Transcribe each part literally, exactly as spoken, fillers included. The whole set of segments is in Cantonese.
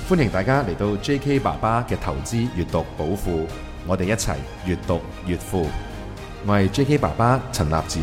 歡迎大家嚟到 J K 爸爸嘅投資閱讀寶庫，我哋一齊閱讀越富。我係 J K 爸爸陳立展。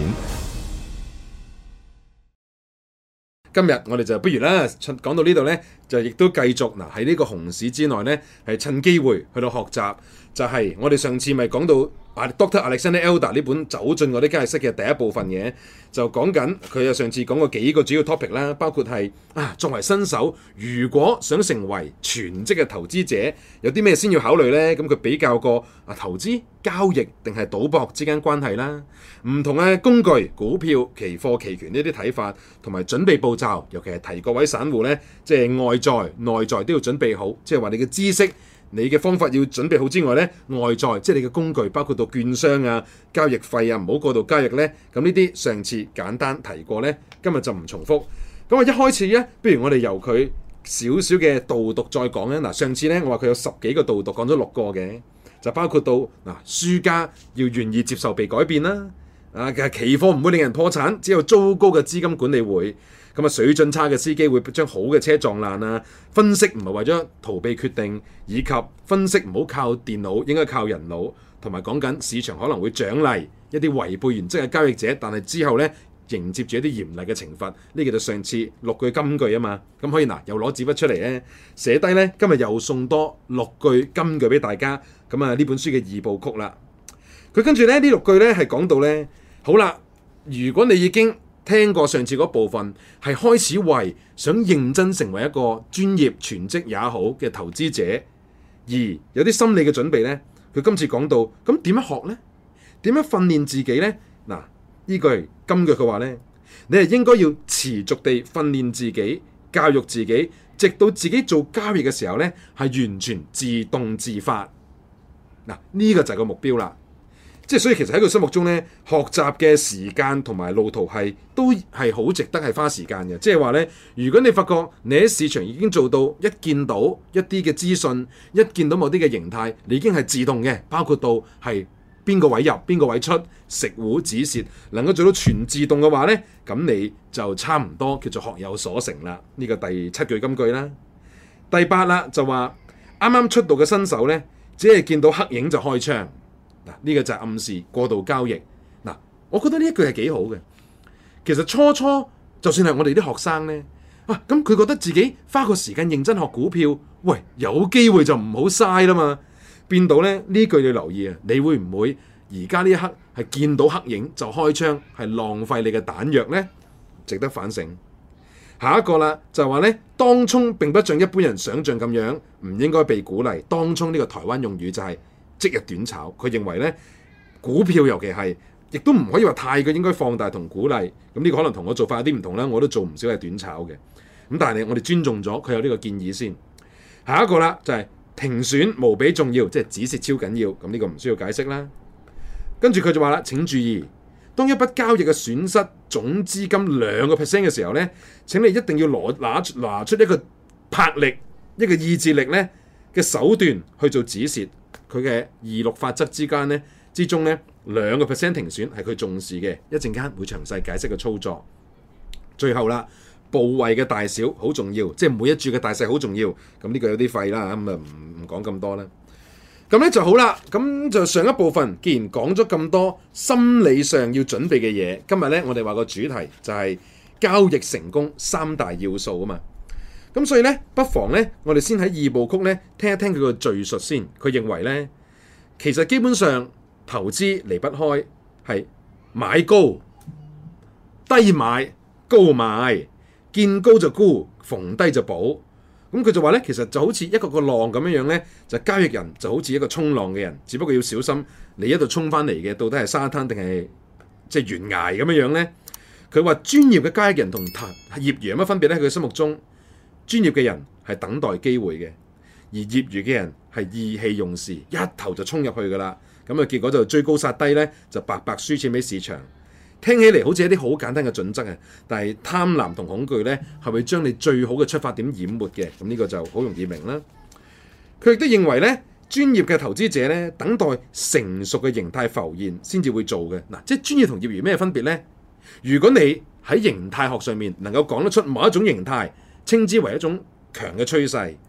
今日我哋就不如啦，講到呢度呢，就亦都繼續嗱喺呢個熊市之內呢，係趁機會去到學習，就係、是、我哋上次咪講到。Doctor Alexander Elder 呢本走進我啲交易室嘅第一部分嘅，就講緊佢又上次講過幾個主要 topic 啦，包括係啊作為新手，如果想成為全職嘅投資者，有啲咩先要考慮呢？咁佢比較過啊投資、交易定係賭博之間關係啦，唔同嘅工具、股票、期貨、期權呢啲睇法，同埋準備步驟，尤其係提各位散戶呢，即係外在、內在都要準備好，即係話你嘅知識。你嘅方法要準備好之外呢，外在即係你嘅工具，包括到券商啊、交易費啊，唔好過度交易呢。咁呢啲上次簡單提過呢，今日就唔重複。咁啊，一開始呢，不如我哋由佢少少嘅導讀再講咧。嗱，上次呢，我話佢有十幾個導讀，講咗六個嘅，就包括到嗱，輸家要願意接受被改變啦。啊，其實期貨唔會令人破產，只有糟糕嘅資金管理會。咁啊，水準差嘅司機會將好嘅車撞爛啊！分析唔係為咗逃避決定，以及分析唔好靠電腦，應該靠人腦。同埋講緊市場可能會獎勵一啲違背原則嘅交易者，但係之後呢，迎接住一啲嚴厲嘅懲罰。呢個就上次六句金句啊嘛。咁可以嗱，又攞紙筆出嚟咧，寫低呢。今日又送多六句金句俾大家。咁啊，呢本書嘅二部曲啦。佢跟住咧，呢六句呢係講到呢：「好啦，如果你已經聽過上次嗰部分，係開始為想認真成為一個專業全職也好嘅投資者，而有啲心理嘅準備呢。佢今次講到，咁點樣學呢？點樣訓練自己呢？嗱，呢句金句佢話呢，你係應該要持續地訓練自己、教育自己，直到自己做交易嘅時候呢，係完全自動自發。嗱，呢個就係個目標啦。即係所以其實喺佢心目中咧，學習嘅時間同埋路途係都係好值得係花時間嘅。即係話咧，如果你發覺你喺市場已經做到一見到一啲嘅資訊，一見到某啲嘅形態，你已經係自動嘅，包括到係邊個位入、邊個位出、食糊止蝕，能夠做到全自動嘅話咧，咁你就差唔多叫做學有所成啦。呢個第七句金句啦。第八啦就話啱啱出道嘅新手咧，只係見到黑影就開槍。嗱，呢個就係暗示過度交易。嗱，我覺得呢一句係幾好嘅。其實初初就算係我哋啲學生呢，啊咁佢覺得自己花個時間認真學股票，喂，有機會就唔好嘥啦嘛。變到咧，呢句你留意啊，你會唔會而家呢一刻係見到黑影就開槍，係浪費你嘅彈藥呢？值得反省。下一個啦，就係話呢，當沖並不像一般人想象咁樣，唔應該被鼓勵。當沖呢個台灣用語就係、是。即日短炒，佢認為咧股票尤其係，亦都唔可以話太過應該放大同鼓勵。咁呢個可能同我做法有啲唔同啦，我都做唔少係短炒嘅。咁但係我哋尊重咗佢有呢個建議先。下一個啦就係、是、停損無比重要，即係止蝕超緊要。咁呢個唔需要解釋啦。跟住佢就話啦，請注意，當一筆交易嘅損失總資金兩個 percent 嘅時候咧，請你一定要攞拿拿出一個魄力、一個意志力咧嘅手段去做止蝕。佢嘅二六法則之間咧之中咧兩個 percent 停損係佢重視嘅，一陣間會詳細解釋個操作。最後啦，部位嘅大小好重要，即係每一注嘅大細好重要。咁呢個有啲廢啦，咁啊唔唔講咁多啦。咁咧就好啦，咁就上一部分既然講咗咁多心理上要準備嘅嘢，今日咧我哋話個主題就係交易成功三大要素啊嘛。咁所以咧，不妨咧，我哋先喺二部曲咧聽一聽佢個敘述先。佢認為咧，其實基本上投資離不開係買高、低買、高賣，見高就沽，逢低就補。咁佢就話咧，其實就好似一個個浪咁樣樣咧，就交易人就好似一個衝浪嘅人，只不過要小心你一度衝翻嚟嘅到底係沙灘定係即係懸崖咁樣樣咧。佢話專業嘅交易人同業餘有乜分別咧？佢心目中。專業嘅人係等待機會嘅，而業餘嘅人係意氣用事，一頭就衝入去噶啦。咁啊，結果就追高殺低咧，就白白輸錢俾市場。聽起嚟好似一啲好簡單嘅準則啊，但係貪婪同恐懼咧，係會將你最好嘅出發點淹沒嘅。咁呢個就好容易明啦。佢亦都認為咧，專業嘅投資者咧，等待成熟嘅形態浮現先至會做嘅。嗱，即係專業同業餘咩分別咧？如果你喺形態學上面能夠講得出某一種形態，稱之為一種強嘅趨勢，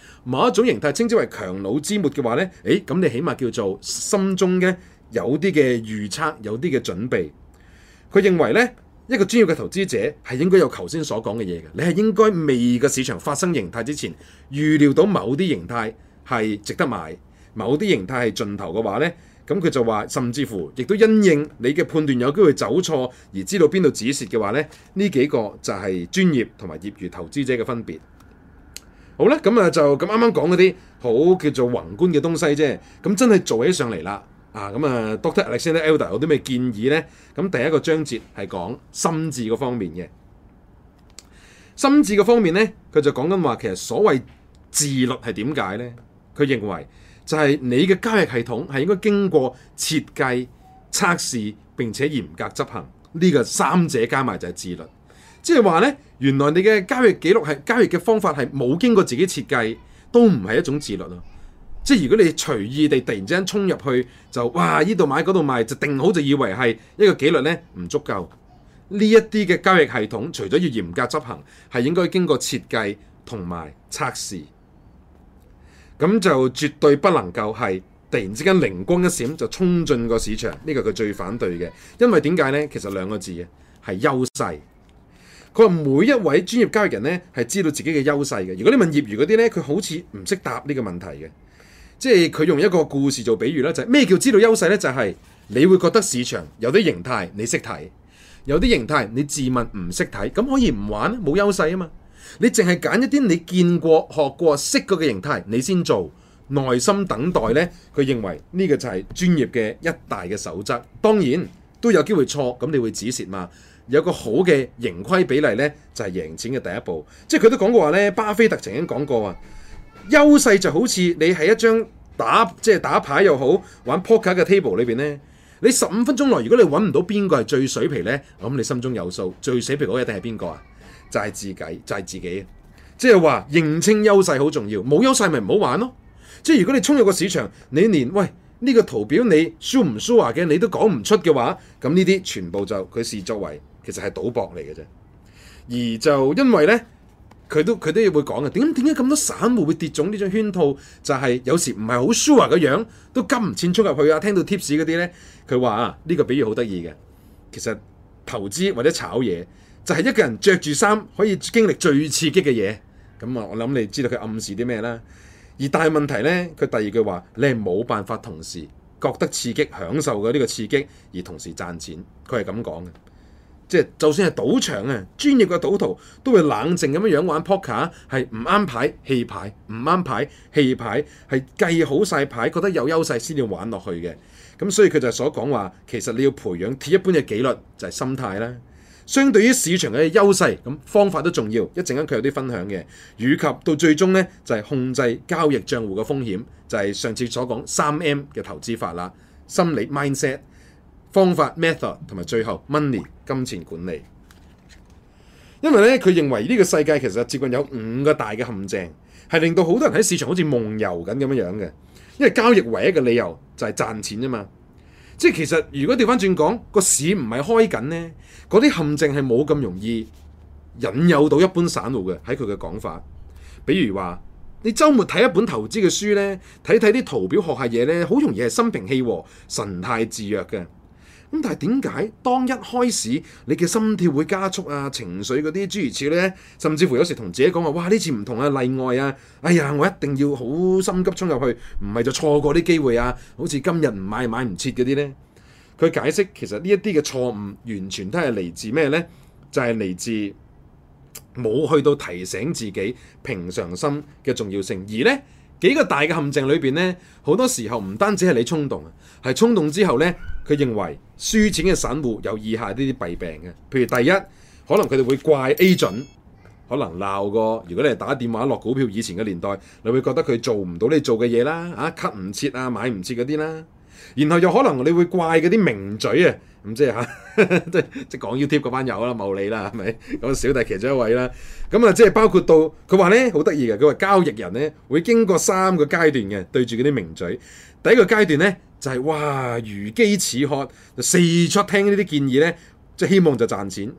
某一種形態稱之為強弩之末嘅話呢，誒咁你起碼叫做心中嘅有啲嘅預測，有啲嘅準備。佢認為呢，一個專業嘅投資者係應該有頭先所講嘅嘢嘅，你係應該未個市場發生形態之前，預料到某啲形態係值得買，某啲形態係盡頭嘅話呢，咁佢就話甚至乎亦都因應你嘅判斷有機會走錯而知道邊度止蝕嘅話呢，呢幾個就係專業同埋業餘投資者嘅分別。好啦，咁啊就咁啱啱講嗰啲好叫做宏觀嘅東西啫，咁真係做起上嚟啦。啊，咁啊 Doctor Alexander Elder 有啲咩建議呢？咁第一個章節係講心智嗰方面嘅。心智嗰方面呢，佢就講緊話，其實所謂自律係點解呢？佢認為就係你嘅交易系統係應該經過設計、測試並且嚴格執行，呢個三者加埋就係自律。即係話呢，原來你嘅交易記錄係交易嘅方法係冇經過自己設計，都唔係一種自律咯。即係如果你隨意地突然之間衝入去，就哇呢度買嗰度賣，就定好就以為係一個紀律呢，唔足夠。呢一啲嘅交易系統，除咗要嚴格執行，係應該經過設計同埋測試。咁就絕對不能夠係突然之間靈光一閃就衝進個市場，呢個佢最反對嘅。因為點解呢？其實兩個字嘅係優勢。佢話每一位專業交易人呢，係知道自己嘅優勢嘅。如果你問業餘嗰啲呢，佢好似唔識答呢個問題嘅。即係佢用一個故事做比喻啦，就係咩叫知道優勢呢？就係你會覺得市場有啲形態你識睇，有啲形態你自問唔識睇，咁可以唔玩，冇優勢啊嘛。你淨係揀一啲你見過、學過、識過嘅形態，你先做，耐心等待呢。佢認為呢個就係專業嘅一大嘅守則。當然都有機會錯，咁你會止蝕嘛。有個好嘅盈虧比例呢，就係贏錢嘅第一步。即係佢都講過話呢，巴菲特曾經講過啊。優勢就好似你喺一張打即係打牌又好，玩 poker 嘅 table 裏邊呢，你十五分鐘內如果你揾唔到邊個係最水皮呢，咁你心中有數，最水皮嗰個一定係邊個啊？就係自己，就係自己。即係話認清優勢好重要，冇優勢咪唔好玩咯。即係如果你衝入個市場，你連喂呢個圖表你 sure 唔 sure 嘅你都講唔出嘅話，咁呢啲全部就佢視作為其實係賭博嚟嘅啫。而就因為呢。佢都佢都會講嘅，點點解咁多散戶會跌中呢種圈套？就係、是、有時唔係好 sure 嘅樣，都金唔錢衝入去啊！聽到 tips 嗰啲呢，佢話啊，呢、這個比喻好得意嘅。其實投資或者炒嘢，就係、是、一個人着住衫可以經歷最刺激嘅嘢。咁啊，我諗你知道佢暗示啲咩啦？而但係問題呢，佢第二句話，你係冇辦法同時覺得刺激、享受嘅呢個刺激，而同時賺錢。佢係咁講嘅。即係就算係賭場啊，專業嘅賭徒都會冷靜咁樣樣玩 poker，係唔啱牌棄牌，唔啱牌棄牌，係計好晒牌，覺得有優勢先要玩落去嘅。咁所以佢就所講話，其實你要培養鐵一般嘅紀律，就係心態啦。相對於市場嘅優勢，咁方法都重要。一陣間佢有啲分享嘅，以及到最終呢，就係控制交易帳戶嘅風險，就係上次所講三 M 嘅投資法啦，心理 mindset。方法 method 同埋最後 money 金錢管理。因為咧佢認為呢個世界其實接近有五個大嘅陷阱，係令到好多人喺市場好似夢遊緊咁樣樣嘅。因為交易唯一嘅理由就係賺錢啫嘛。即係其實如果調翻轉講，個市唔係開緊呢，嗰啲陷阱係冇咁容易引誘到一般散戶嘅。喺佢嘅講法，比如話你週末睇一本投資嘅書呢，睇睇啲圖表學下嘢呢，好容易係心平氣和、神態自若嘅。咁但係點解當一開始你嘅心跳會加速啊，情緒嗰啲諸如此類呢，甚至乎有時同自己講話，哇呢次唔同啊，例外啊，哎呀我一定要好心急衝入去，唔係就錯過啲機會啊，好似今日唔買買唔切嗰啲呢。佢解釋其實呢一啲嘅錯誤完全都係嚟自咩呢？就係嚟自冇去到提醒自己平常心嘅重要性，而呢幾個大嘅陷阱裏邊呢，好多時候唔單止係你衝動啊，係衝動之後呢，佢認為輸錢嘅散戶有以下呢啲弊病嘅。譬如第一，可能佢哋會怪 agent，可能鬧過。如果你係打電話落股票以前嘅年代，你會覺得佢做唔到你做嘅嘢啦，啊 cut 唔切啊，買唔切嗰啲啦。然後又可能你會怪嗰啲名嘴啊，咁即係嚇，即係即係講 YouTube 嗰班友啦，茂利啦，係咪？咁小弟其中一位啦。咁啊，即係包括到佢話咧，好得意嘅。佢話交易人咧會經過三個階段嘅，對住嗰啲名嘴。第一個階段咧就係、是、哇如飢似渴，就四出聽呢啲建議咧，即係希望就賺錢。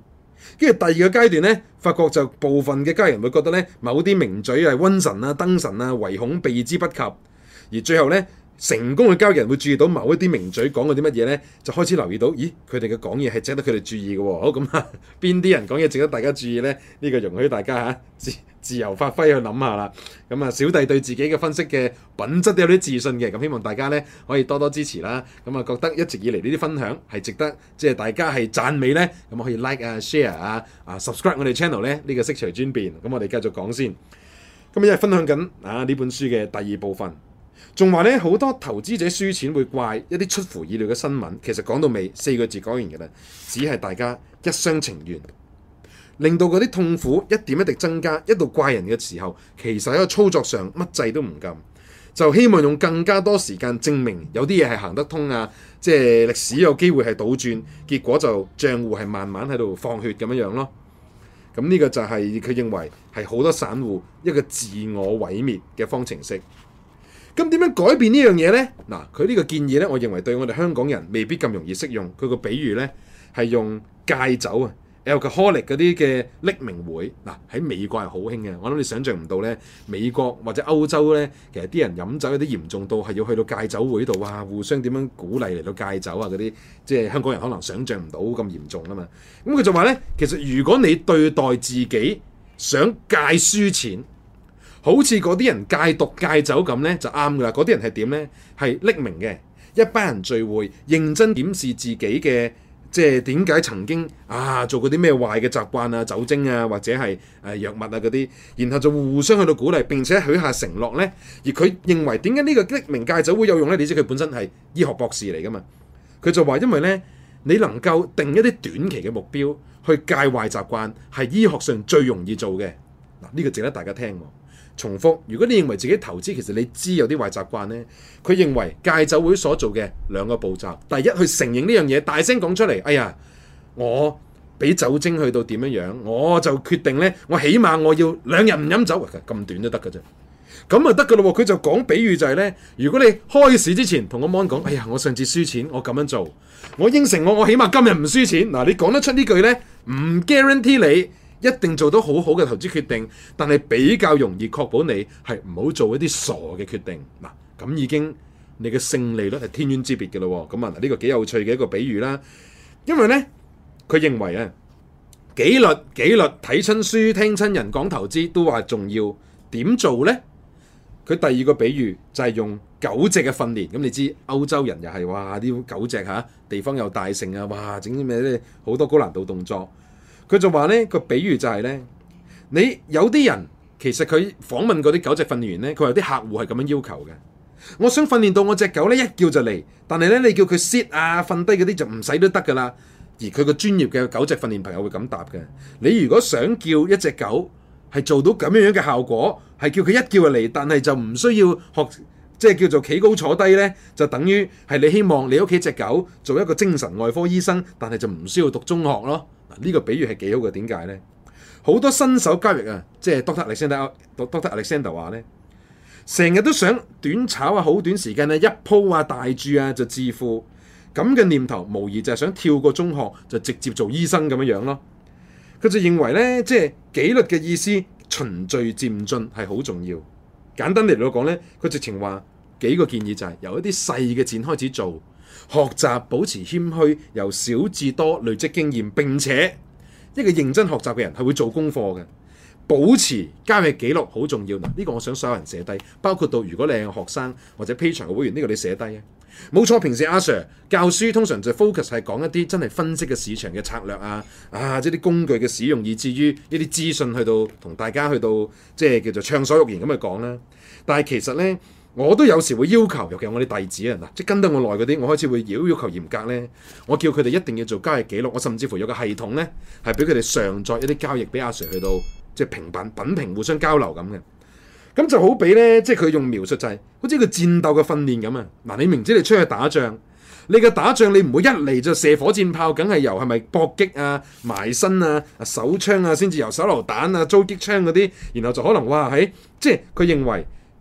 跟住第二個階段咧，發覺就部分嘅家人會覺得咧，某啲名嘴係瘟神啊、燈神啊，唯恐避之不及。而最後咧，成功嘅交易人會注意到某一啲名嘴講過啲乜嘢咧，就開始留意到，咦，佢哋嘅講嘢係值得佢哋注意嘅喎。好咁啊，邊啲人講嘢值得大家注意咧？呢、這個容許大家嚇自自由發揮去諗下啦。咁啊，小弟對自己嘅分析嘅品質都有啲自信嘅，咁希望大家咧可以多多支持啦。咁啊，覺得一直以嚟呢啲分享係值得，即係大家係讚美咧，咁可以 like 啊、share 啊、啊 subscribe 我哋 channel 咧，呢個悉隨尊便。咁我哋繼續講先。咁因為分享緊啊呢本書嘅第二部分。仲話咧，好多投資者輸錢會怪一啲出乎意料嘅新聞，其實講到尾四個字講完嘅啦，只係大家一廂情願，令到嗰啲痛苦一點一滴增加，一度怪人嘅時候，其實喺個操作上乜掣都唔撳，就希望用更加多時間證明有啲嘢係行得通啊，即係歷史有機會係倒轉，結果就賬戶係慢慢喺度放血咁樣樣咯。咁呢個就係佢認為係好多散戶一個自我毀滅嘅方程式。咁點樣改變呢樣嘢呢？嗱，佢呢個建議呢，我認為對我哋香港人未必咁容易適用。佢個比喻呢，係用戒酒啊 alcoholic 嗰啲嘅匿名會。嗱，喺美國係好興嘅，我諗你想象唔到呢，美國或者歐洲呢，其實啲人飲酒有啲嚴重到係要去到戒酒會度啊，互相點樣鼓勵嚟到戒酒啊嗰啲，即係香港人可能想象唔到咁嚴重啊嘛。咁佢就話呢，其實如果你對待自己想戒輸錢，好似嗰啲人戒毒戒酒咁呢，就啱噶啦。嗰啲人係點呢？係匿名嘅，一班人聚會，認真檢視自己嘅，即係點解曾經啊做過啲咩壞嘅習慣啊、酒精啊或者係誒藥物啊嗰啲，然後就互相去到鼓勵，並且許下承諾呢。而佢認為點解呢個匿名戒酒會有用呢？你知佢本身係醫學博士嚟噶嘛？佢就話因為呢，你能夠定一啲短期嘅目標去戒壞習慣，係醫學上最容易做嘅。嗱，呢個值得大家聽喎。重複，如果你認為自己投資其實你知有啲壞習慣呢，佢認為戒酒會所做嘅兩個步驟，第一去承認呢樣嘢，大聲講出嚟，哎呀，我俾酒精去到點樣樣，我就決定呢，我起碼我要兩日唔飲酒，咁短都得㗎啫，咁啊得㗎咯喎。佢就講比喻就係呢：如果你開市之前同個 mon 講，哎呀，我上次輸錢，我咁樣做，我應承我，我起碼今日唔輸錢。嗱，你講得出呢句呢，唔 guarantee 你一定做到好好嘅投資決定，但係比較容易確保你係唔好做一啲傻嘅決定。嗱，咁已經你嘅勝利率係天淵之別嘅咯。咁啊，呢個幾有趣嘅一個比喻啦。因為呢，佢認為啊，紀律紀律睇親書聽親人講投資都話重要，點做呢？佢第二個比喻就係用狗隻嘅訓練。咁你知歐洲人又係哇啲狗隻嚇，地方又大盛啊，哇整啲咩咧好多高難度動作。佢就話呢個比喻就係呢：你有啲人其實佢訪問嗰啲狗隻訓練員呢，佢話啲客戶係咁樣要求嘅。我想訓練到我隻狗呢一叫就嚟，但係呢，你叫佢 sit 啊瞓低嗰啲就唔使都得㗎啦。而佢個專業嘅狗隻訓練朋友會咁答嘅。你如果想叫一隻狗係做到咁樣樣嘅效果，係叫佢一叫就嚟，但係就唔需要學即係叫做企高坐低呢，就等於係你希望你屋企隻狗做一個精神外科醫生，但係就唔需要讀中學咯。呢個比喻係幾好嘅，點解呢？好多新手交易啊，即係 Doctor Alexander Doctor Alexander 話呢，成日都想短炒啊，好短時間啊，一鋪啊大注啊就致富，咁嘅念頭無疑就係想跳過中學就直接做醫生咁樣樣咯。佢就認為呢，即係紀律嘅意思循序漸進係好重要。簡單嚟講呢，佢直情話幾個建議就係由一啲細嘅錢開始做。學習保持謙虛，由少至多累積經驗，並且一個認真學習嘅人係會做功課嘅。保持交易記錄好重要。嗱，呢個我想所有人寫低，包括到如果你係學生或者 Patreon 嘅會員，呢個你寫低啊。冇錯，平時阿 Sir 教書通常就 focus 係講一啲真係分析嘅市場嘅策略啊，啊，即係啲工具嘅使用，以至於一啲資訊去到同大家去到即係叫做暢所欲言咁去講啦。但係其實呢，我都有時會要求，尤其係我哋弟子啊，嗱，即係跟得我耐嗰啲，我開始會要要求嚴格咧。我叫佢哋一定要做交易記錄，我甚至乎有個系統咧，係俾佢哋上載一啲交易俾阿 Sir 去到即係評品品評，互相交流咁嘅。咁就好比咧，即係佢用描述就係、是、好似個戰鬥嘅訓練咁啊。嗱，你明知你出去打仗，你嘅打仗你唔會一嚟就射火箭炮，梗係由係咪搏擊啊、埋身啊、手槍啊，先至由手榴彈啊、狙擊槍嗰啲，然後就可能哇喺即係佢認為。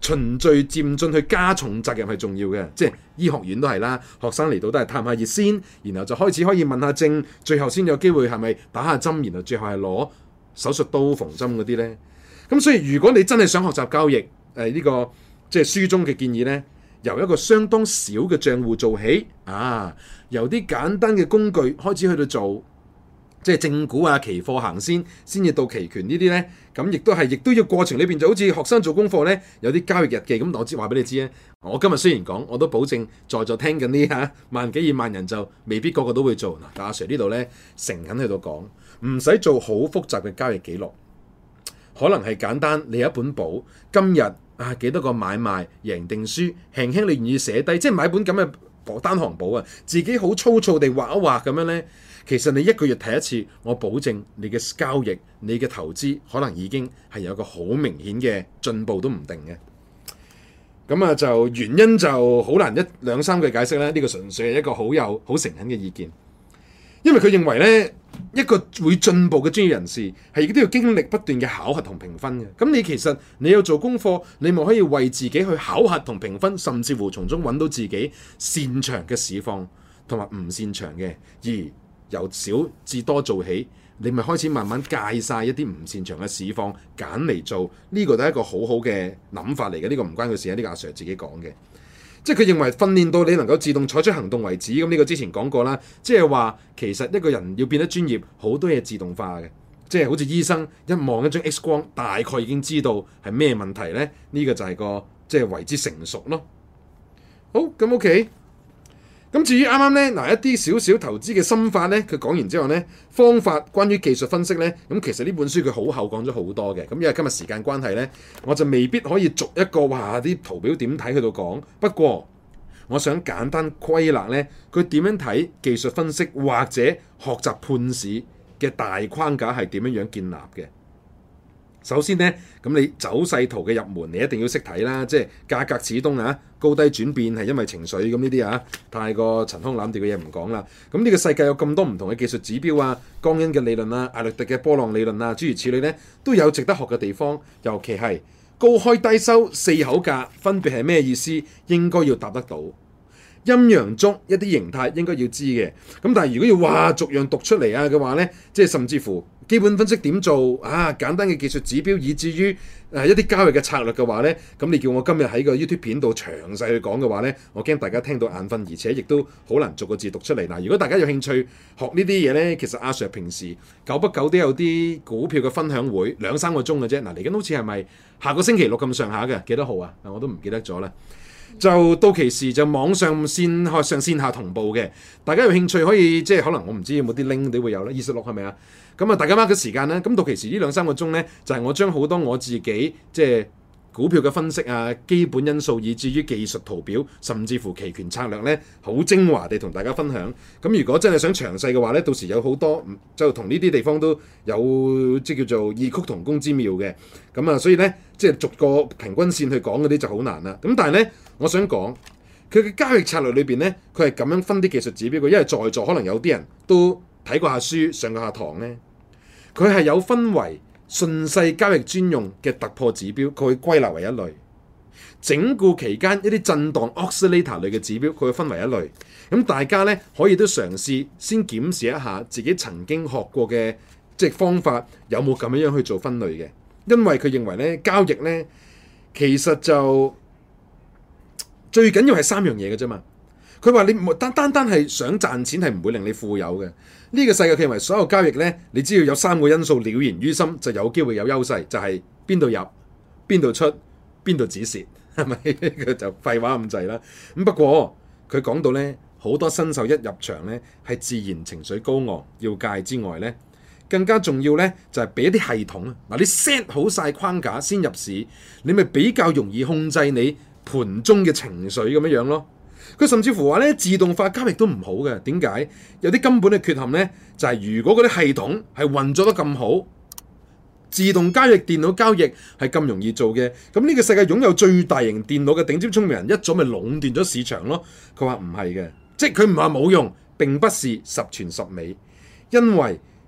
循序漸進去加重責任係重要嘅，即係醫學院都係啦，學生嚟到都係探下熱先，然後就開始可以問下症，最後先有機會係咪打下針，然後最後係攞手術刀縫針嗰啲呢。咁所以如果你真係想學習交易，誒、呃、呢、這個即係書中嘅建議呢，由一個相當小嘅賬戶做起，啊，由啲簡單嘅工具開始去到做。即係正股啊、期貨行先，先至到期權呢啲呢。咁亦都係，亦都要過程裏邊就好似學生做功課呢，有啲交易日記。咁我知話俾你知咧，我今日雖然講，我都保證在座聽緊呢嚇萬幾二萬人就未必個個都會做。嗱，但阿 Sir 呢度呢，誠懇喺度講，唔使做好複雜嘅交易記錄，可能係簡單。你有一本簿，今日啊幾多個買賣贏定輸，輕輕你願意寫低，即係買本咁嘅單行簿啊，自己好粗糙地畫一畫咁樣呢。其實你一個月睇一次，我保證你嘅交易、你嘅投資可能已經係有個好明顯嘅進步都唔定嘅。咁啊，就原因就好難一兩三句解釋啦。呢個純粹係一個好有好誠懇嘅意見，因為佢認為呢一個會進步嘅專業人士係亦都要經歷不斷嘅考核同評分嘅。咁你其實你有做功課，你咪可以為自己去考核同評分，甚至乎從中揾到自己擅長嘅市況同埋唔擅長嘅，而由少至多做起，你咪開始慢慢戒晒一啲唔擅長嘅市況，揀嚟做，呢個都係一個好好嘅諗法嚟嘅。呢個唔關佢事啊，呢個阿 Sir 自己講嘅。即係佢認為訓練到你能夠自動採取行動為止，咁呢個之前講過啦。即係話其實一個人要變得專業，好多嘢自動化嘅。即係好似醫生一望一張 X 光，大概已經知道係咩問題呢。呢個就係個即係為之成熟咯。好，咁 OK。咁至於啱啱咧，嗱一啲少少投資嘅心法咧，佢講完之後咧，方法關於技術分析咧，咁其實呢本書佢好厚講咗好多嘅。咁因為今日時間關係咧，我就未必可以逐一個話啲圖表點睇去到講。不過我想簡單歸納咧，佢點樣睇技術分析或者學習判市嘅大框架係點樣樣建立嘅。首先呢，咁你走勢圖嘅入門，你一定要識睇啦，即係價格始終啊，高低轉變係因為情緒，咁呢啲啊，太過陳腔濫調嘅嘢唔講啦。咁呢個世界有咁多唔同嘅技術指標啊，江恩嘅理論啊，艾略特嘅波浪理論啊，諸如此類呢，都有值得學嘅地方。尤其係高開低收四口價分別係咩意思，應該要答得到。陰陽燭一啲形態應該要知嘅，咁但係如果要話逐樣讀出嚟啊嘅話呢，即係甚至乎基本分析點做啊，簡單嘅技術指標，以至於誒一啲交易嘅策略嘅話呢，咁你叫我今日喺個 YouTube 片度詳細去講嘅話呢，我驚大家聽到眼瞓，而且亦都好難逐個字讀出嚟。嗱，如果大家有興趣學呢啲嘢呢，其實阿 Sir 平時久不久都有啲股票嘅分享會，兩三個鐘嘅啫。嗱，嚟緊好似係咪下個星期六咁上下嘅？幾多號啊？我都唔記得咗啦。就到期時就網上線上線下同步嘅，大家有興趣可以即係可能我唔知有冇啲 link 都會有啦，二十六係咪啊？咁啊，大家 mark 嘅時間啦。咁到期時呢兩三個鐘呢，就係、是、我將好多我自己即係股票嘅分析啊、基本因素，以至於技術圖表，甚至乎期權策略呢，好精華地同大家分享。咁如果真係想詳細嘅話呢，到時有好多就同呢啲地方都有即叫做異曲同工之妙嘅。咁啊，所以呢，即係逐個平均線去講嗰啲就好難啦。咁但係呢，我想講佢嘅交易策略裏邊呢，佢係咁樣分啲技術指標嘅，因為在座可能有啲人都睇過下書、上過下堂呢，佢係有分為順勢交易專用嘅突破指標，佢會歸納為一類；整固期間一啲震盪 oscillator 類嘅指標，佢會分為一類。咁大家呢，可以都嘗試先檢視一下自己曾經學過嘅即係方法有冇咁樣樣去做分類嘅，因為佢認為呢，交易呢，其實就最緊要係三樣嘢嘅啫嘛。佢話你單單單係想賺錢係唔會令你富有嘅。呢個世界佢認為所有交易呢，你只要有三個因素了然於心，就有機會有優勢，就係邊度入、邊度出、邊度止蝕，係咪？佢就廢話咁滯啦。咁不過佢講到呢，好多新手一入場呢，係自然情緒高昂要戒之外呢，更加重要呢，就係俾一啲系統啊。嗱，你 set 好晒框架先入市，你咪比較容易控制你盤中嘅情緒咁樣樣咯。佢甚至乎話咧，自動化交易都唔好嘅。點解？有啲根本嘅缺陷呢，就係、是、如果嗰啲系統係運作得咁好，自動交易、電腦交易係咁容易做嘅，咁呢個世界擁有最大型電腦嘅頂尖聰明人一早咪壟斷咗市場咯。佢話唔係嘅，即係佢唔係話冇用，並不是十全十美，因為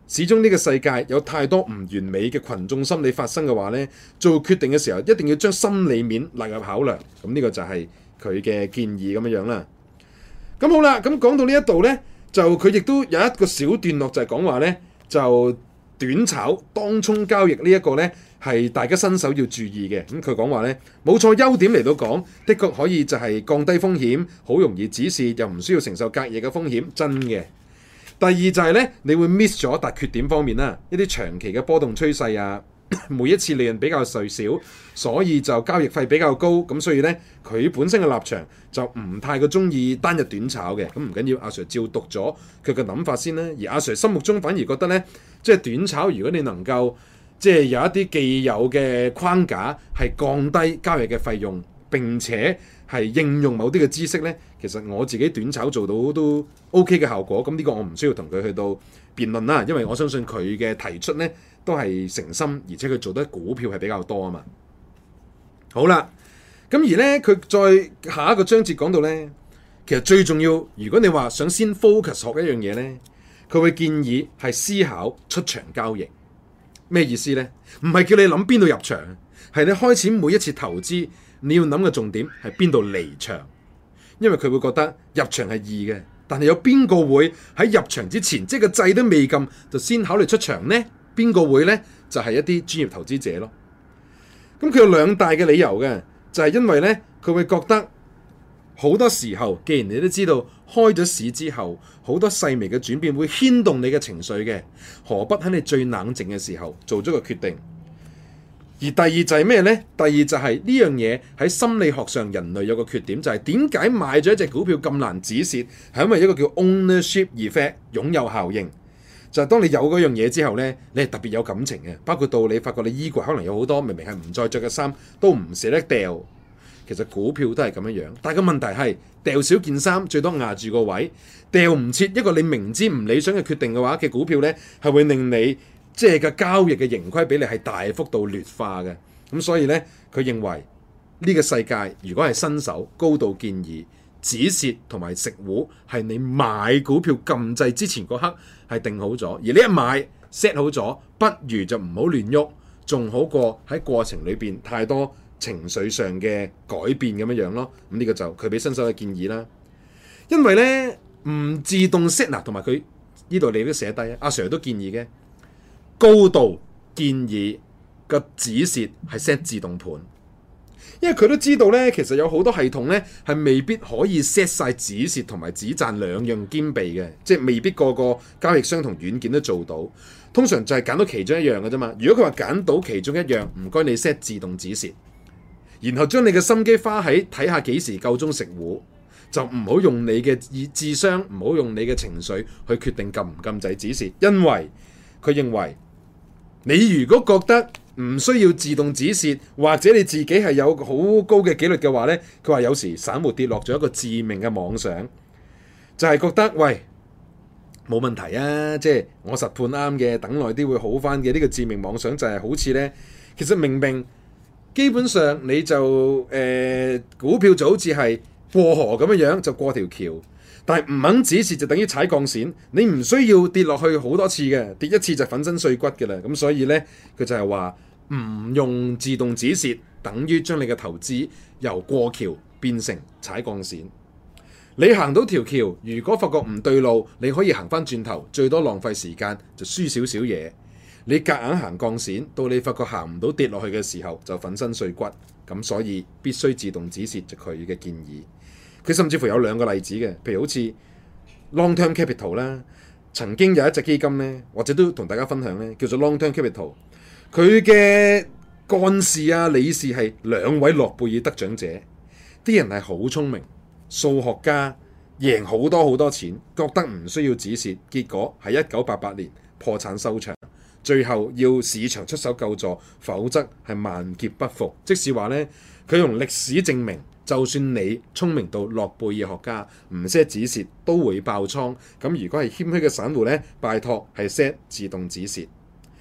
始終呢個世界有太多唔完美嘅群眾心理發生嘅話呢，做決定嘅時候一定要將心理面納入考量。咁呢個就係佢嘅建議咁樣樣啦。咁好啦，咁講到呢一度呢，就佢亦都有一個小段落就係講話呢，就短炒當沖交易呢一個呢，係大家新手要注意嘅。咁佢講話呢，冇錯，優點嚟到講，的確可以就係降低風險，好容易止蝕，又唔需要承受隔夜嘅風險，真嘅。第二就係咧，你會 miss 咗，但缺點方面啦，一啲長期嘅波動趨勢啊，每一次利潤比較細少，所以就交易費比較高，咁所以咧佢本身嘅立場就唔太過中意單日短炒嘅。咁唔緊要，阿 Sir 照讀咗佢嘅諗法先啦。而阿 Sir 心目中反而覺得咧，即係短炒，如果你能夠即係有一啲既有嘅框架，係降低交易嘅費用，並且係應用某啲嘅知識呢，其實我自己短炒做到都 OK 嘅效果。咁呢個我唔需要同佢去到辯論啦，因為我相信佢嘅提出呢都係誠心，而且佢做得股票係比較多啊嘛。好啦，咁而呢，佢再下一個章節講到呢，其實最重要，如果你話想先 focus 學一樣嘢呢，佢會建議係思考出場交易。咩意思呢？唔係叫你諗邊度入場，係你開始每一次投資，你要諗嘅重點係邊度離場，因為佢會覺得入場係易嘅，但係有邊個會喺入場之前，即係個掣都未撳就先考慮出場呢？邊個會呢？就係一啲專業投資者咯。咁佢有兩大嘅理由嘅，就係因為呢，佢會覺得好多時候，既然你都知道開咗市之後，好多細微嘅轉變會牽動你嘅情緒嘅，何不喺你最冷靜嘅時候做咗個決定？而第二就係咩呢？第二就係呢樣嘢喺心理學上，人類有個缺點，就係點解買咗一隻股票咁難止蝕，係因為一個叫 ownership effect 擁有效應。就係當你有嗰樣嘢之後呢，你係特別有感情嘅，包括到你發覺你衣櫃可能有好多明明係唔再着嘅衫都唔捨得掉。其實股票都係咁樣樣，但係個問題係掉少件衫最多壓住個位，掉唔切一個你明知唔理想嘅決定嘅話嘅股票呢，係會令你即係個交易嘅盈虧比例係大幅度劣化嘅。咁所以呢，佢認為呢個世界如果係新手，高度建議止蝕同埋食糊係你買股票撳掣之前嗰刻係定好咗，而你一買 set 好咗，不如就唔好亂喐，仲好過喺過程裏邊太多情緒上嘅改變咁樣樣咯。咁呢個就佢俾新手嘅建議啦。因為呢，唔自動 set 嗱，同埋佢呢度你都寫低阿 Sir 都建議嘅，高度建議個止蝕係 set 自動盤，因為佢都知道呢，其實有好多系統呢係未必可以 set 晒止蝕同埋止賺兩樣兼備嘅，即係未必個個交易商同軟件都做到。通常就係揀到其中一樣嘅啫嘛。如果佢話揀到其中一樣，唔該你 set 自動止蝕，然後將你嘅心機花喺睇下幾時夠鐘食糊，就唔好用你嘅智商，唔好用你嘅情緒去決定撳唔撳掣止蝕。因為佢認為你如果覺得唔需要自動止蝕，或者你自己係有好高嘅紀律嘅話呢，佢話有時散戶跌落咗一個致命嘅妄想，就係覺得喂，冇問題啊，即係我實判啱嘅，等耐啲會好翻嘅。呢個致命妄想就係好似呢，其實明明基本上你就誒、呃、股票就好似係過河咁樣樣，就過條橋，但係唔肯止蝕就等於踩鋼線，你唔需要跌落去好多次嘅，跌一次就粉身碎骨嘅啦。咁所以呢，佢就係話唔用自動止蝕，等於將你嘅投資由過橋變成踩鋼線。你行到條橋，如果發覺唔對路，你可以行翻轉頭，最多浪費時間就輸少少嘢。你夾硬行鋼線，到你發覺行唔到跌落去嘅時候，就粉身碎骨。咁所以必須自動止蝕，就佢嘅建議。佢甚至乎有兩個例子嘅，譬如好似 Long Term Capital 啦，曾經有一隻基金呢，或者都同大家分享呢，叫做 Long Term Capital。佢嘅幹事啊、理事係兩位諾貝爾得獎者，啲人係好聰明，數學家，贏好多好多錢，覺得唔需要止蝕，結果係一九八八年破產收場，最後要市場出手救助，否則係萬劫不復。即是話呢，佢用歷史證明，就算你聰明到諾貝爾學家，唔 set 止蝕都會爆倉。咁如果係謙虛嘅散戶呢，拜託係 set 自動止蝕。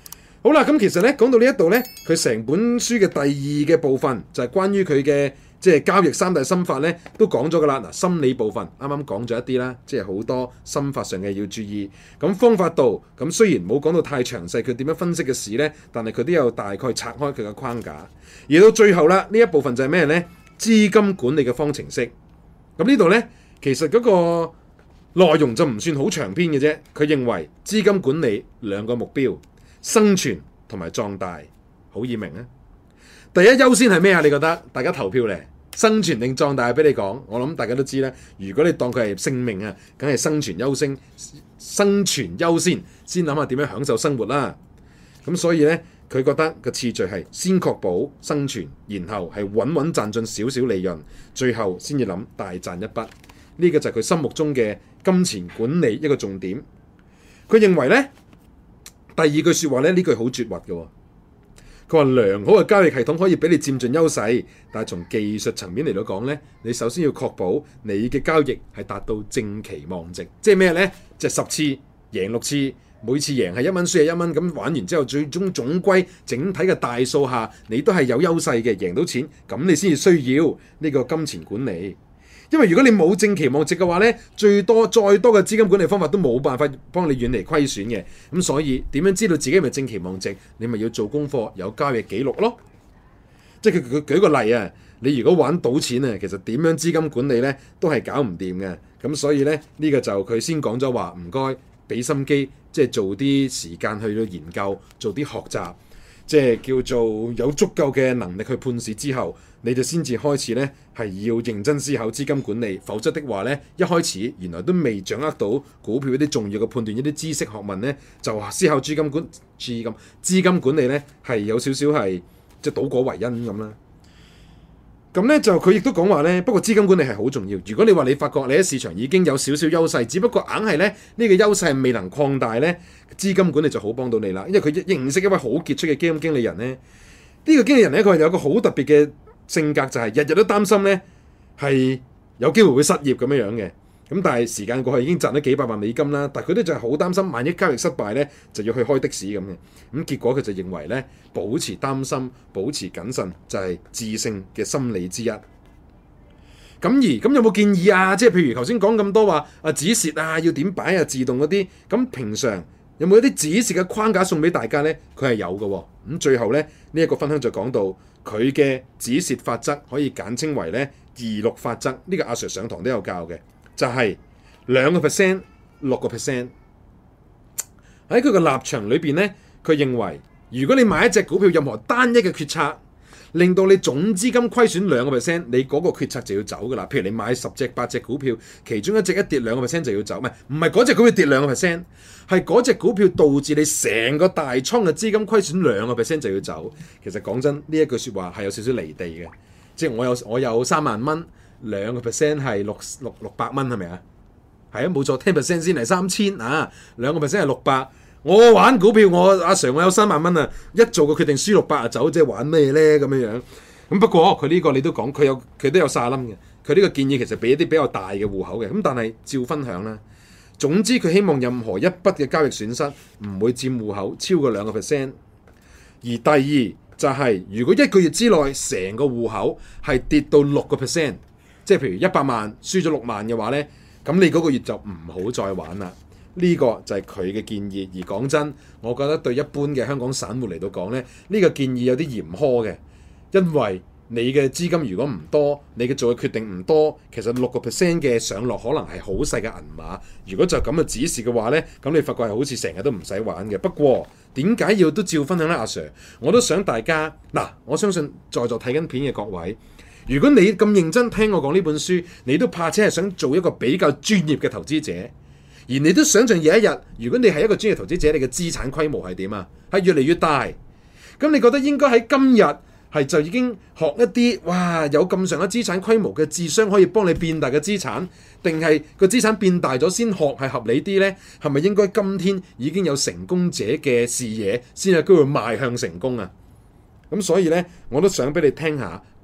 好啦，咁其實咧講到呢一度咧，佢成本書嘅第二嘅部分就係關於佢嘅即係交易三大心法咧，都講咗噶啦。嗱，心理部分啱啱講咗一啲啦，即係好多心法上嘅要注意。咁方法度咁雖然冇講到太詳細，佢點樣分析嘅事咧，但係佢都有大概拆開佢嘅框架。而到最後啦，呢一部分就係咩咧？資金管理嘅方程式。咁呢度咧，其實嗰個內容就唔算好長篇嘅啫。佢認為資金管理兩個目標。生存同埋壯大，好易明啊！第一優先係咩啊？你覺得？大家投票咧，生存定壯大？俾你講，我諗大家都知啦。如果你當佢係性命啊，梗係生存優先，生存優先，先諗下點樣享受生活啦。咁所以咧，佢覺得個次序係先確保生存，然後係穩穩賺進少少利潤，最後先至諗大賺一筆。呢個就係佢心目中嘅金錢管理一個重點。佢認為咧。第二句説話咧，呢句好絕核嘅。佢話良好嘅交易系統可以俾你佔盡優勢，但係從技術層面嚟到講咧，你首先要確保你嘅交易係達到正期望值，即係咩咧？即係十次贏六次，每次贏係一蚊，輸係一蚊，咁玩完之後，最終總歸整體嘅大數下，你都係有優勢嘅，贏到錢，咁你先至需要呢個金錢管理。因為如果你冇正期望值嘅話咧，最多再多嘅資金管理方法都冇辦法幫你遠離虧損嘅。咁所以點樣知道自己係咪正期望值？你咪要做功課，有交易記錄咯。即係佢佢舉個例啊，你如果玩賭錢啊，其實點樣資金管理咧都係搞唔掂嘅。咁所以咧呢個就佢先講咗話，唔該俾心機，即係做啲時間去到研究，做啲學習。即係叫做有足夠嘅能力去判市之後，你就先至開始咧係要認真思考資金管理，否則的話咧一開始原來都未掌握到股票一啲重要嘅判斷一啲知識學問咧，就話思考資金管資金資金管理咧係有少少係即係倒果為因咁啦。咁咧就佢亦都講話咧，不過資金管理係好重要。如果你話你發覺你喺市場已經有少少優勢，只不過硬係咧呢個優勢係未能擴大咧，資金管理就好幫到你啦。因為佢認識一位好傑出嘅基金經理人咧，呢個經理人咧佢係有個好特別嘅性格，就係日日都擔心咧係有機會會失業咁樣樣嘅。咁但係時間過去已經賺咗幾百萬美金啦，但係佢哋就係好擔心，萬一交易失敗咧，就要去開的士咁嘅。咁結果佢就認為咧，保持擔心、保持謹慎就係致勝嘅心理之一。咁而咁有冇建議啊？即係譬如頭先講咁多話啊止蝕啊，要點擺啊，自動嗰啲。咁平常有冇一啲止蝕嘅框架送俾大家咧？佢係有嘅喎。咁最後咧呢一個分享就講到佢嘅止蝕法則，可以簡稱為咧二六法則。呢個阿 Sir 上堂都有教嘅。就係兩個 percent， 六個 percent。喺佢個立場裏邊咧，佢認為如果你買一隻股票，任何單一嘅決策令到你總資金虧損兩個 percent， 你嗰個決策就要走噶啦。譬如你買十隻八隻股票，其中一隻一跌兩個 percent 就要走，唔係唔係嗰隻股票跌兩個 percent， 係嗰隻股票導致你成個大倉嘅資金虧損兩個 percent 就要走。其實講真，呢一句説話係有少少離地嘅，即係我有我有三萬蚊。兩個 percent 係六六六百蚊係咪啊？係啊，冇錯，ten percent 先係三千啊，兩個 percent 係六百。我玩股票，我阿 Sir 我有三萬蚊啊，一做個決定輸六百啊走，即係玩咩咧咁樣樣？咁不過佢呢個你都講，佢有佢都有沙冧嘅。佢呢個建議其實俾一啲比較大嘅戶口嘅，咁但係照分享啦。總之佢希望任何一筆嘅交易損失唔會佔戶口超過兩個 percent。而第二就係、是、如果一個月之內成個戶口係跌到六個 percent。即係譬如一百萬輸咗六萬嘅話咧，咁你嗰個月就唔好再玩啦。呢、這個就係佢嘅建議。而講真，我覺得對一般嘅香港散戶嚟到講咧，呢、這個建議有啲嚴苛嘅，因為你嘅資金如果唔多，你嘅做嘅決定唔多，其實六個 percent 嘅上落可能係好細嘅銀碼。如果就咁嘅指示嘅話咧，咁你發覺係好似成日都唔使玩嘅。不過點解要都照分享咧？阿 Sir， 我都想大家嗱，我相信在座睇緊片嘅各位。如果你咁認真聽我講呢本書，你都怕且係想做一個比較專業嘅投資者，而你都想象有一日，如果你係一個專業投資者，你嘅資產規模係點啊？係越嚟越大。咁你覺得應該喺今日係就已經學一啲哇有咁上下資產規模嘅智商可以幫你變大嘅資產，定係個資產變大咗先學係合理啲呢？係咪應該今天已經有成功者嘅視野，先有機會邁向成功啊？咁所以呢，我都想俾你聽下。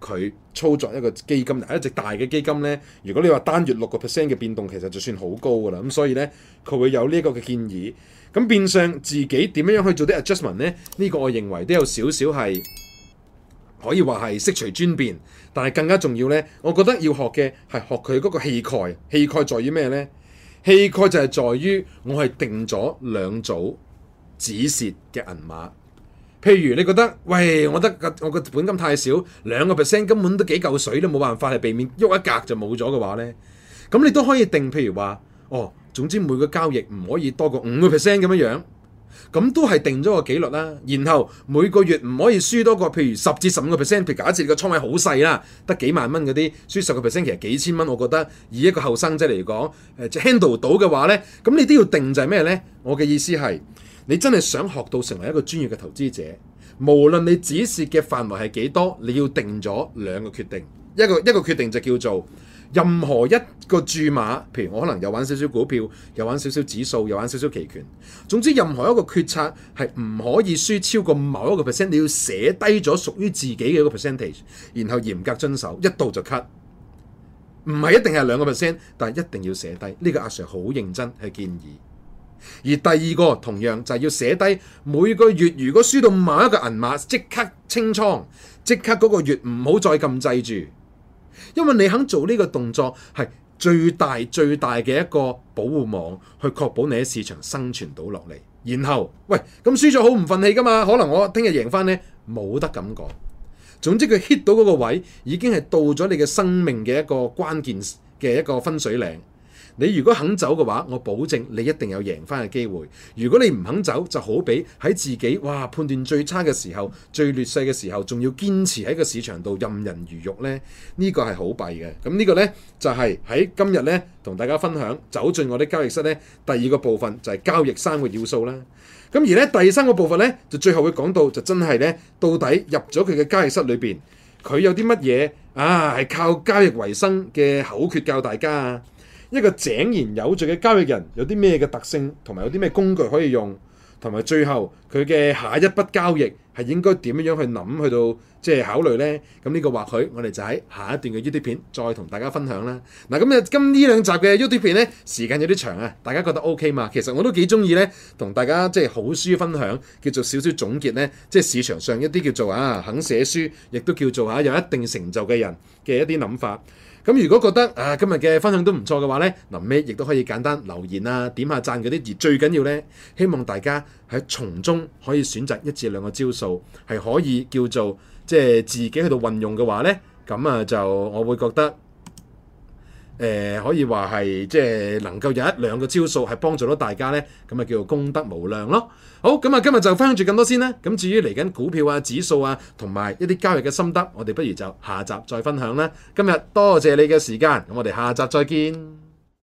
佢操作一個基金，一隻大嘅基金咧，如果你話單月六個 percent 嘅變動，其實就算好高噶啦。咁所以咧，佢會有呢一個嘅建議。咁變相自己點樣樣去做啲 adjustment 咧？呢、呢個我認為都有少少係可以話係悉隨尊便，但係更加重要咧，我覺得要學嘅係學佢嗰個氣概。氣概在於咩咧？氣概就係在於我係定咗兩組止蝕嘅銀碼。譬如你覺得，喂，我覺得我個本金太少，兩個 percent 根本都幾嚿水，都冇辦法係避免喐一格就冇咗嘅話咧，咁你都可以定，譬如話，哦，總之每個交易唔可以多過五個 percent 咁樣樣，咁都係定咗個紀律啦。然後每個月唔可以輸多過，譬如十至十五個 percent。譬如假設你個倉位好細啦，得幾萬蚊嗰啲，輸十個 percent 其實幾千蚊，我覺得以一個後生仔嚟講，誒即 handle 到嘅話咧，咁你都要定就係咩咧？我嘅意思係，你真係想學到成為一個專業嘅投資者，無論你止蝕嘅範圍係幾多，你要定咗兩個決定。一個一個決定就叫做任何一個注碼，譬如我可能又玩少少股票，又玩少少指數，又玩少少期權。總之任何一個決策係唔可以輸超過某一個 percent，你要寫低咗屬於自己嘅一個 percentage， 然後嚴格遵守，一到就 cut。唔係一定係兩個 percent， 但係一定要寫低。呢、這個阿 Sir 好認真去建議。而第二個同樣就係要寫低每個月如果輸到某一個銀碼，即刻清倉，即刻嗰個月唔好再撳掣住，因為你肯做呢個動作係最大最大嘅一個保護網，去確保你喺市場生存到落嚟。然後喂，咁輸咗好唔忿氣噶嘛？可能我聽日贏翻呢，冇得咁講。總之佢 hit 到嗰個位，已經係到咗你嘅生命嘅一個關鍵嘅一個分水嶺。你如果肯走嘅話，我保證你一定有贏翻嘅機會。如果你唔肯走，就好比喺自己哇判斷最差嘅時候、最劣勢嘅時候，仲要堅持喺個市場度任人魚肉呢。呢、這個係好弊嘅。咁呢個呢，就係、是、喺今日呢，同大家分享走進我啲交易室呢，第二個部分就係交易三個要素啦。咁而呢，第三個部分呢，就最後會講到就真係呢，到底入咗佢嘅交易室裏邊，佢有啲乜嘢啊係靠交易為生嘅口訣教大家啊。一個井然有序嘅交易人有啲咩嘅特性，同埋有啲咩工具可以用，同埋最後佢嘅下一筆交易係應該點樣去諗，去到即係考慮呢？咁呢個或許我哋就喺下一段嘅 YouTube 片再同大家分享啦。嗱，咁啊今呢兩集嘅 YouTube 片呢，時間有啲長啊，大家覺得 OK 嘛？其實我都幾中意呢，同大家即係好書分享，叫做少少總結呢，即係市場上一啲叫做啊肯寫書，亦都叫做啊有一定成就嘅人嘅一啲諗法。咁如果覺得啊今日嘅分享都唔錯嘅話呢，臨尾亦都可以簡單留言啊，點下讚嗰啲。而最緊要呢，希望大家喺從中可以選擇一至兩個招數，係可以叫做即係自己去到運用嘅話呢，咁啊就我會覺得誒、呃、可以話係即係能夠有一兩個招數係幫助到大家呢，咁啊叫做功德無量咯。好，咁啊今日就分享住咁多先啦。咁至於嚟緊股票啊、指數啊，同埋一啲交易嘅心得，我哋不如就下集再分享啦。今日多謝你嘅時間，咁我哋下集再見。